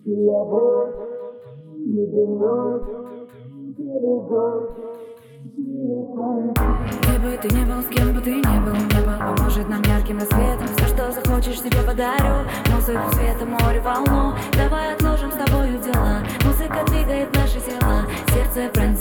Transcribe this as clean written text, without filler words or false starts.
Где бы ты не был, с кем бы ты не был, небо поможет нам ярким рассветом. Все, что захочешь, себе подарю. Музыку, света, море, волну. Давай отложим с тобою дела. Музыка двигает наши тела. Сердце проникает.